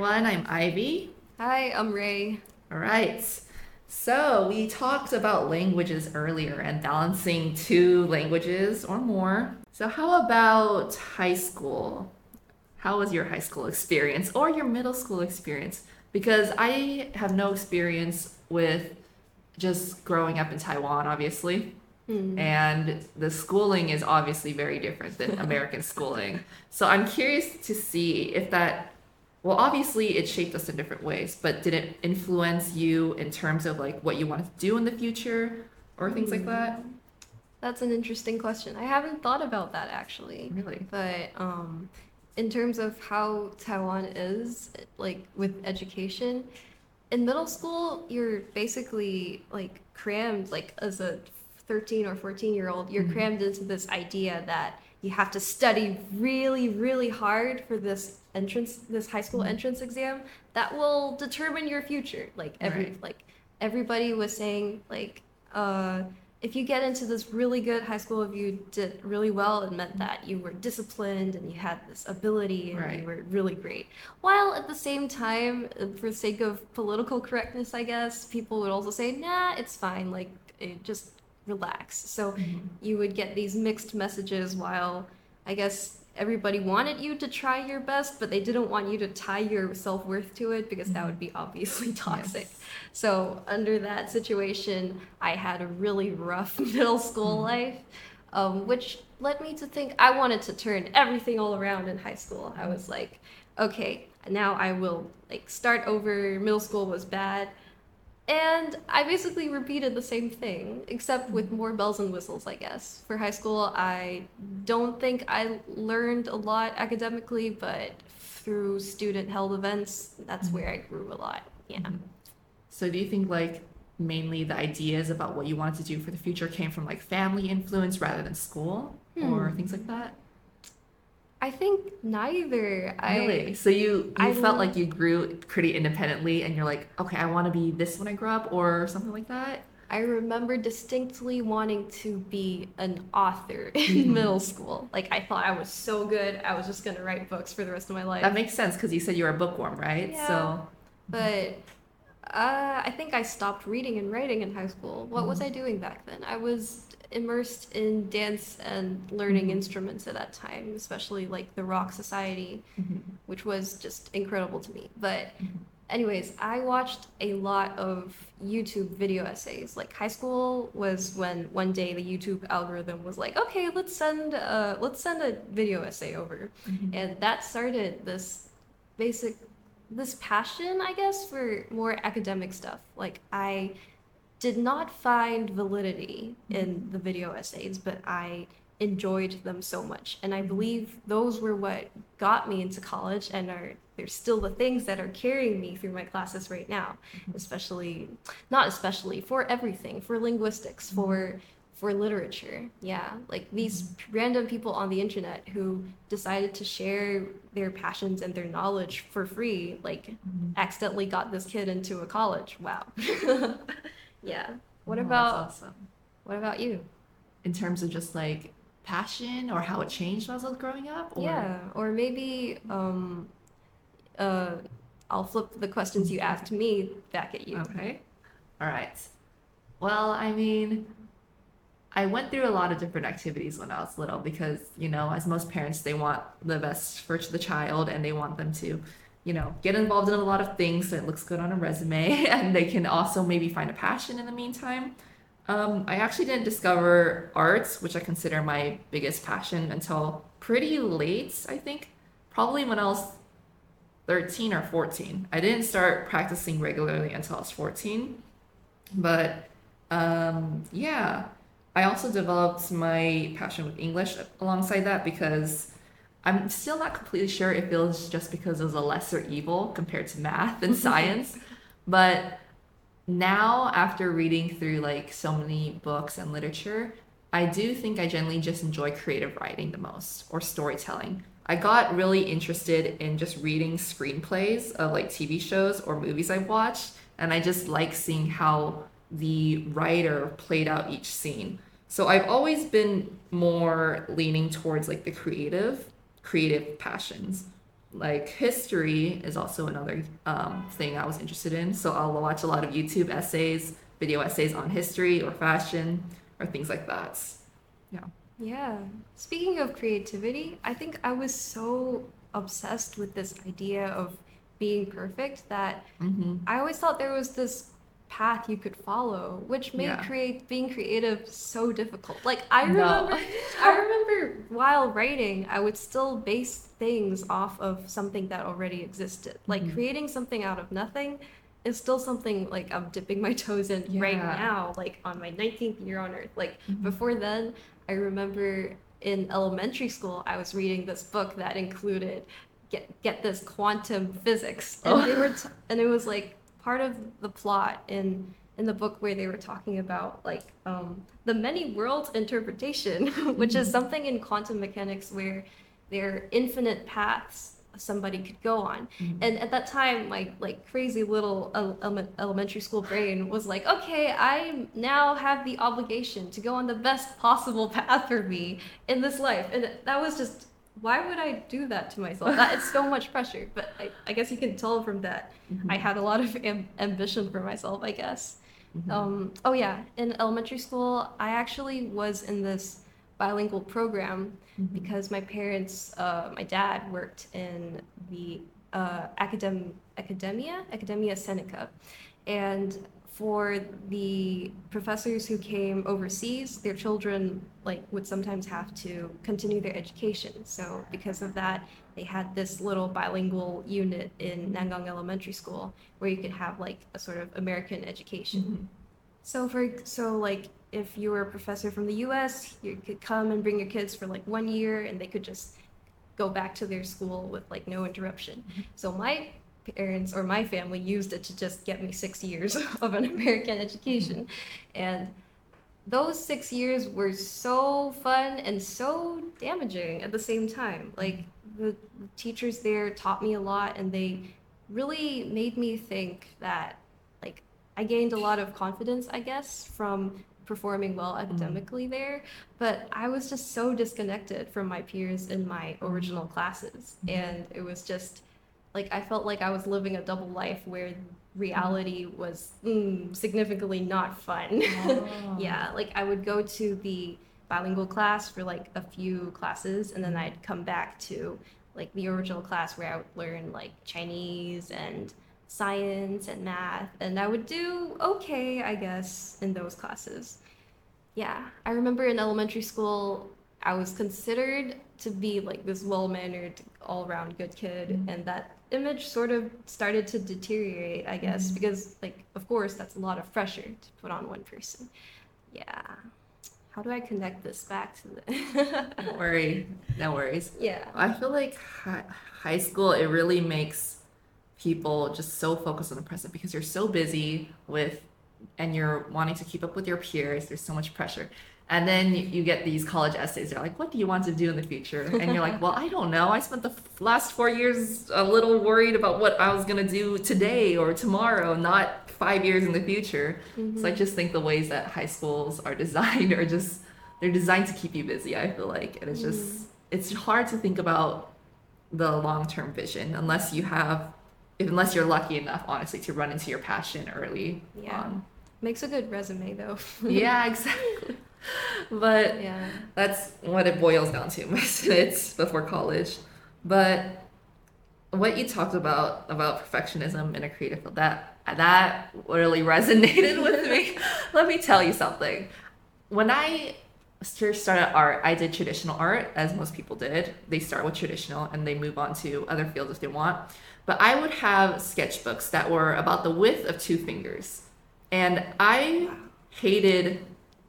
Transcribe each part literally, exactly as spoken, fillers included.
everyone. I'm Ivy. Hi, I'm Ray. All right. So, we talked about languages earlier and balancing two languages or more. So, how about high school? How was your high school experience or your middle school experience? Because I have no experience with just growing up in Taiwan, obviously. Hmm. And the schooling is obviously very different than American schooling. So I'm curious to see if that, well, obviously it shaped us in different ways, but did it influence you in terms of like what you want to do in the future or things like that? Hmm. That's an interesting question. I haven't thought about that actually. Really? But um, in terms of how Taiwan is, like with education, in middle school, you're basically like crammed, like as a thirteen or fourteen year old, you're Mhm. crammed into this idea that you have to study really, really hard for this entrance, this high school Mhm. entrance exam that will determine your future. Like every, Right. like everybody was saying, like, uh, if you get into this really good high school, if you did really well, it meant that you were disciplined and you had this ability and you Right. were really great. While at the same time, uh, for the sake of political correctness, I guess, people would also say, nah, it's fine, like, it, just relax. So Mhm. you would get these mixed messages while I guess everybody wanted you to try your best, but they didn't want you to tie your self worth to it because that Mhm. would be obviously toxic. Yes. So, under that situation, I had a really rough middle school Mhm. life, um, which led me to think I wanted to turn everything all around in high school. I was like, okay, now I will like start over. Middle school was bad. And I basically repeated the same thing, except with Mhm. more bells and whistles, I guess. For high school, I don't think I learned a lot academically, but through student held events, that's where I Mhm. grew a lot. Yeah. Mhm. So do you think like mainly the ideas about what you wanted to do for the future came from like family influence rather than school or Hmm. things like that? I think neither. Really? I So you I you felt like you grew pretty independently and you're like, okay, I want to be this when I grow up or something like that? I remember distinctly wanting to be an author in Hmm. middle school. Like I thought I was so good, I was just gonna write books for the rest of my That life. makes sense because you said you were a bookworm, right? Yeah, So, but Uh, I think I stopped reading and writing in high school. What was I hmm, doing back then? I was immersed in dance and learning hmm, instruments at that time, especially like the Rock Society, hmm, which was just incredible to me. But hmm, anyways, I watched a lot of YouTube video essays. Like high school was when one day the YouTube algorithm was like, "Okay, let's send uh let's send a video essay over." hmm, And that started this basic this passion, I guess, for more academic stuff. Like I did not find validity in hmm, the video essays, but I enjoyed them so much. And I hmm, believe those were what got me into college and are they're still the things that are carrying me through my classes right now, especially not especially for everything, for linguistics, hmm, for for literature. Yeah, like these hmm, random people on the internet who decided to share their passions and their knowledge for free, like hmm. accidentally got this kid into a college. Wow. Yeah. What Oh, that's about awesome. what about you? In terms of just like passion or how it changed when I was growing up, or Yeah, or maybe um uh I'll flip the questions you asked me back at you. okay, all right. Well, I mean, I went through a lot of different activities when I was little because, you know, as most parents, they want the best for the child and they want them to, you know, get involved in a lot of things so it looks good on a resume and they can also maybe find a passion in the meantime. Um, I actually didn't discover arts, which I consider my biggest passion, until pretty late, I think. Probably when I was thirteen or fourteen. I didn't start practicing regularly until I was fourteen. But um, yeah, I also developed my passion with English alongside that because I'm still not completely sure if it was just because it was a lesser evil compared to math and science. But now, after reading through like so many books and literature, I do think I generally just enjoy creative writing the most or storytelling. I got really interested in just reading screenplays of like T V shows or movies I've watched, and I just like seeing how the writer played out each scene. So I've always been more leaning towards like the creative, creative passions. like history is also another um, thing I was interested in. So I'll watch a lot of YouTube essays, video essays on history or fashion or things like that. Yeah. Yeah. Speaking of creativity, I think I was so obsessed with this idea of being perfect that Mm-hmm. I always thought there was this path you could follow, which made Yeah. create being creative so difficult. Like I No. remember I remember while writing, I would still base things off of something that already existed. Like Mhm. creating something out of nothing is still something like I'm dipping my toes in right Yeah. now, like on my nineteenth year on earth. Like Mhm. before then, I remember in elementary school, I was reading this book that included get get this quantum physics, and Oh. they were t- and it was like part of the plot in in the book where they were talking about like um, the many worlds interpretation, which is Mhm. something in quantum mechanics where there are infinite paths somebody could go on. Mhm. And at that time, my like crazy little ele- ele- elementary school brain was like, okay, I now have the obligation to go on the best possible path for me in this life. And that was just, why would I do that to myself? That it's so much pressure. But I, I guess you can tell from that, I Mhm. had a lot of am- ambition for myself, I guess. Mhm. Um, oh yeah, in elementary school, I actually was in this bilingual program Mhm. because my parents, uh, my dad worked in the uh, academ- academia, Academia Seneca, and for the professors who came overseas, their children like would sometimes have to continue their education. So because of that, they had this little bilingual unit in Nangang Elementary School where you could have like a sort of American education. Mhm. So for so like if you were a professor from the U S, you could come and bring your kids for like one year and they could just go back to their school with like no interruption. So my parents or my family used it to just get me six years of an American education. And those six years were so fun and so damaging at the same time. Like the teachers there taught me a lot and they really made me think that like I gained a lot of confidence, I guess, from performing well academically there, but I was just so disconnected from my peers in my original classes. And it was just like I felt like I was living a double life where reality was mm, significantly not fun. Oh. Yeah, like I would go to the bilingual class for like a few classes and then I'd come back to like the original class where I would learn like Chinese and science and math and I would do okay, I guess, in those classes. Yeah, I remember in elementary school I was considered to be like this well-mannered, all-around good kid, Mhm. and that image sort of started to deteriorate, I guess, Mhm. because like of course that's a lot of pressure to put on one person. Yeah. How do I connect this back to the Don't worry. No worries. Yeah. I feel like hi- high school, it really makes people just so focused on the present because you're so busy with, and you're wanting to keep up with your peers. There's so much pressure. And then you, you get these college essays. They're like, what do you want to do in the future? And you're like, well, I don't know. I spent the f- last four years a little worried about what I was going to do today or tomorrow, not five years in the future. So I Mhm. just think the ways that high schools are designed are just, they're designed to keep you busy, I feel like. And it's just, it's hard to think about the long-term vision unless you have, unless you're lucky enough, honestly, to run into your passion early Yeah. on. Makes a good resume though. Yeah, exactly. But Yeah. that's what it boils down to. Most of it's before college. But what you talked about about perfectionism in a creative field, that that really resonated with me. Let me tell you something. When I first started art, I did traditional art, as most people did. They start with traditional and they move on to other fields if they want. But I would have sketchbooks that were about the width of two fingers. And I hated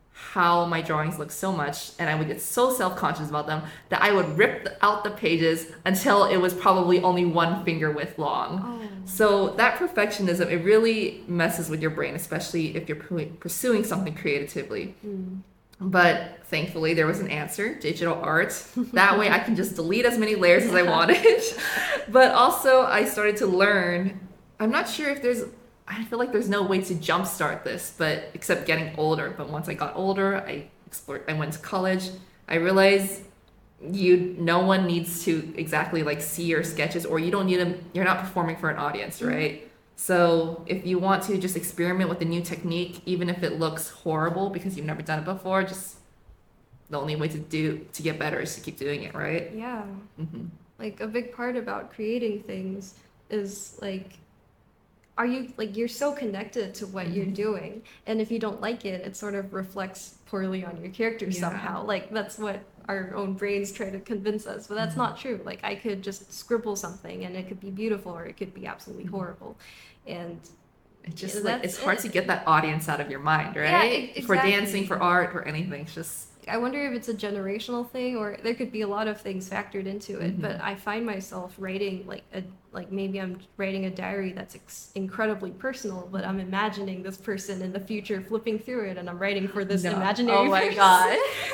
how my drawings looked so much, and I would get so self-conscious about them that I would rip the- out the pages until it was probably only one finger width long. Oh. So that perfectionism, it really messes with your brain, especially if you're pu- pursuing something creatively. Mm. But thankfully, there was an answer, digital art. That way I can just delete as many layers as I wanted. But also, I started to learn. I'm not sure if there's, I feel like there's no way to jumpstart this, but except getting older. But once I got older, I explored, I went to college. I realized you no one needs to exactly like see your sketches, or you don't need them, you're not performing for an audience, right? So if you want to just experiment with a new technique, even if it looks horrible because you've never done it before, just the only way to do to get better is to keep doing it, right? Yeah. Hmm. Like a big part about creating things is like, are you like you're so connected to what you're Mhm. doing, and if you don't like it, it sort of reflects poorly on your character Yeah. somehow. Like that's what our own brains try to convince us, but that's Mhm. not true. Like I could just scribble something and it could be beautiful or it could be absolutely Mhm. horrible, and It's just like that's it's hard it. to get that audience out of your mind, Yeah, right? e- For dancing, exactly. for art, for anything. It's just I wonder if it's a generational thing or there could be a lot of things factored into it, Mhm. but I find myself writing like a like maybe I'm writing a diary that's ex- incredibly personal, but I'm imagining this person in the future flipping through it and I'm writing for this no. imaginary Oh my person. god.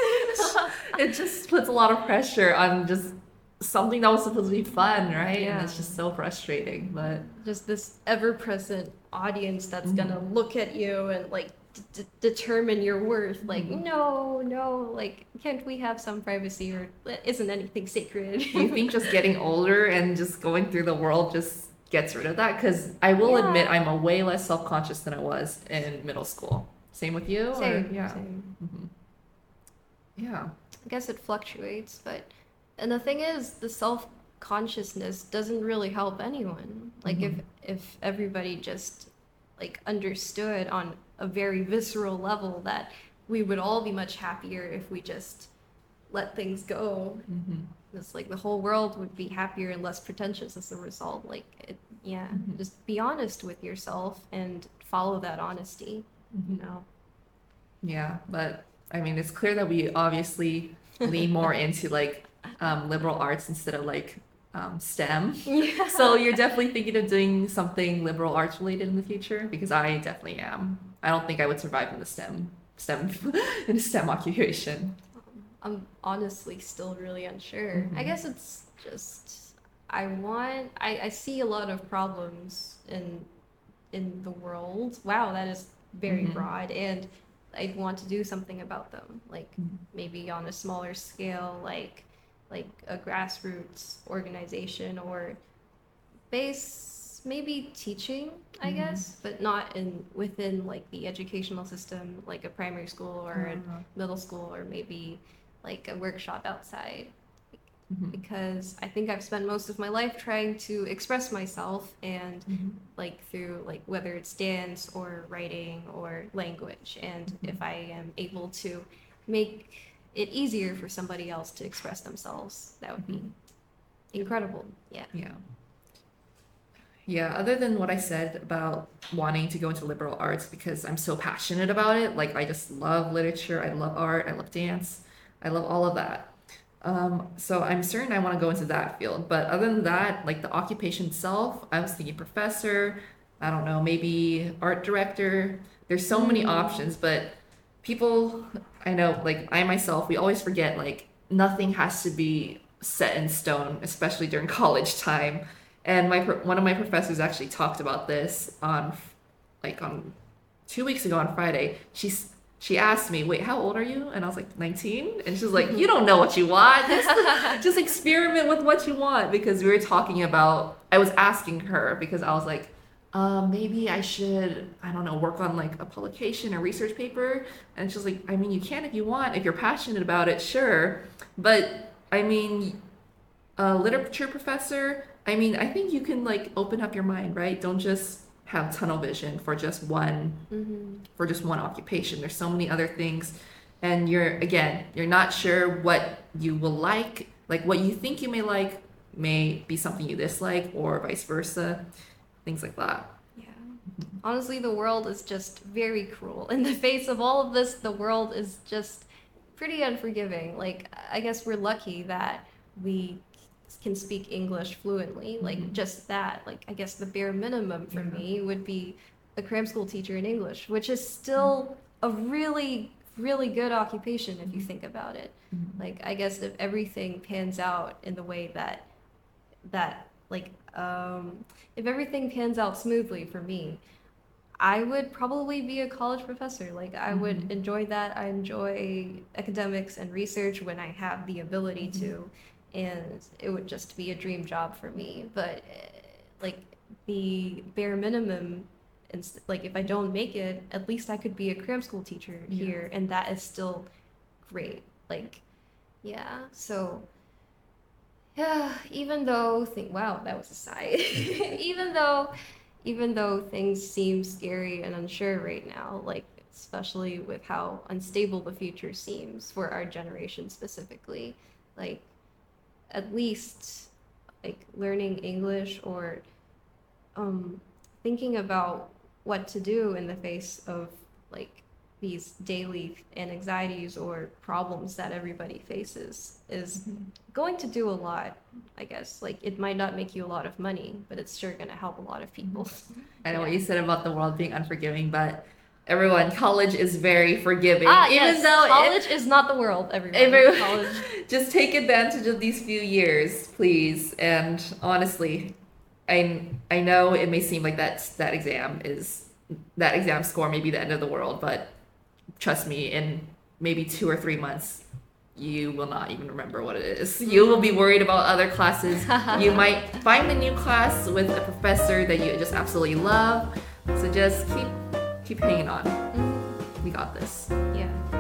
It just puts a lot of pressure on just something that was supposed to be fun, right? And Yeah. it's just so frustrating. But Just this ever-present audience that's Mhm. gonna look at you and like d- d- determine your worth. Like, Mhm. no, no, like, can't we have some privacy or isn't anything sacred? do you think just getting older and just going through the world just gets rid of that? Because I will Yeah. admit I'm a way less self-conscious than I was in middle school. Same with you? Or- Same, Yeah. same. Mhm. Yeah. I guess it fluctuates, but and the thing is, the self consciousness doesn't really help anyone. Like Mhm. if if everybody just like understood on a very visceral level that we would all be much happier if we just let things go. Mhm. It's like the whole world would be happier and less pretentious as a result. Like it, yeah, Mhm. just be honest with yourself and follow that honesty, you Mhm. know. Yeah, but I mean, it's clear that we obviously lean more into like um, liberal arts instead of like um, STEM. Yeah. So you're definitely thinking of doing something liberal arts related in the future? Because I definitely am. I don't think I would survive in the STEM STEM in a STEM occupation. I'm honestly still really unsure. I Mhm. guess it's just I want I, I see a lot of problems in in the world. Wow, that is very Mhm. broad, and I want to do something about them. Like Mhm. maybe on a smaller scale, like like a grassroots organization or base maybe teaching, I Mhm. guess, but not in within like the educational system, like a primary school or a Uh, middle school or maybe like a workshop outside mhm. because I think I've spent most of my life trying to express myself and Mhm. like through like whether it's dance or writing or language and Mhm. if I am able to make it easier for somebody else to express themselves, that would be Mhm. incredible. Yeah. Yeah. Yeah, other than what I said about wanting to go into liberal arts because I'm so passionate about it, like I just love literature, I love art, I love dance, I love all of that. Um, so I'm certain I want to go into that field. But other than that, like the occupation itself, I was thinking professor, I don't know, maybe art director. There's so many Mm. options, but people, I know, like I myself, we always forget like nothing has to be set in stone, especially during college time. And my pro- one of my professors actually talked about this on like on two weeks ago on Friday. She's she asked me, "Wait, how old are you?" And I was like, nineteen. And she's like, "You don't know what you want. Just, just experiment with what you want." Because we were talking about, I was asking her because I was like, um, maybe I should, I don't know, work on like a publication or research paper. And she's like, I mean, you can if you want, if you're passionate about it, sure. But I mean, a literature professor, I mean, I think you can like open up your mind, right? Don't just have tunnel vision for just one Mm-hmm. for just one occupation. There's so many other things. And you're again, you're not sure what you will like. Like what you think you may like may be something you dislike or vice versa. Things like that. Yeah. Honestly, the world is just very cruel. In the face of all of this, the world is just pretty unforgiving. Like, I guess we're lucky that we can speak English fluently. Like, Mhm. just that. Like, I guess the bare minimum for Yeah. me would be a cram school teacher in English, which is still a really, really good occupation if you think about it. Mhm. Like, I guess if everything pans out in the way that that like um if everything pans out smoothly for me, I would probably be a college professor. Like I Mhm. would enjoy that. I enjoy academics and research when I have the ability Mhm. to, and it would just be a dream job for me. But eh, like the bare minimum, and like if I don't make it, at least I could be a cram school teacher Yeah. here, and that is still great. Like yeah, so yeah, even though think wow, that was a sigh. even though even though things seem scary and unsure right now, like especially with how unstable the future seems for our generation specifically, like at least like learning English or um thinking about what to do in the face of like these daily anxieties or problems that everybody faces is Mhm. going to do a lot, I guess. Like it might not make you a lot of money, but it's sure going to help a lot of people. I know what Yeah. you said about the world being unforgiving, but everyone, college is very forgiving. Ah, Even yes, though it- college is not the world, everyone. Everyone, College. just take advantage of these few years, please. And honestly, I I know it may seem like that that exam is that exam score may be the end of the world, but trust me, in maybe two or three months, you will not even remember what it is. You will be worried about other classes. You might find a new class with a professor that you just absolutely love. So just keep keep hanging on. Mm, We got this. yeah.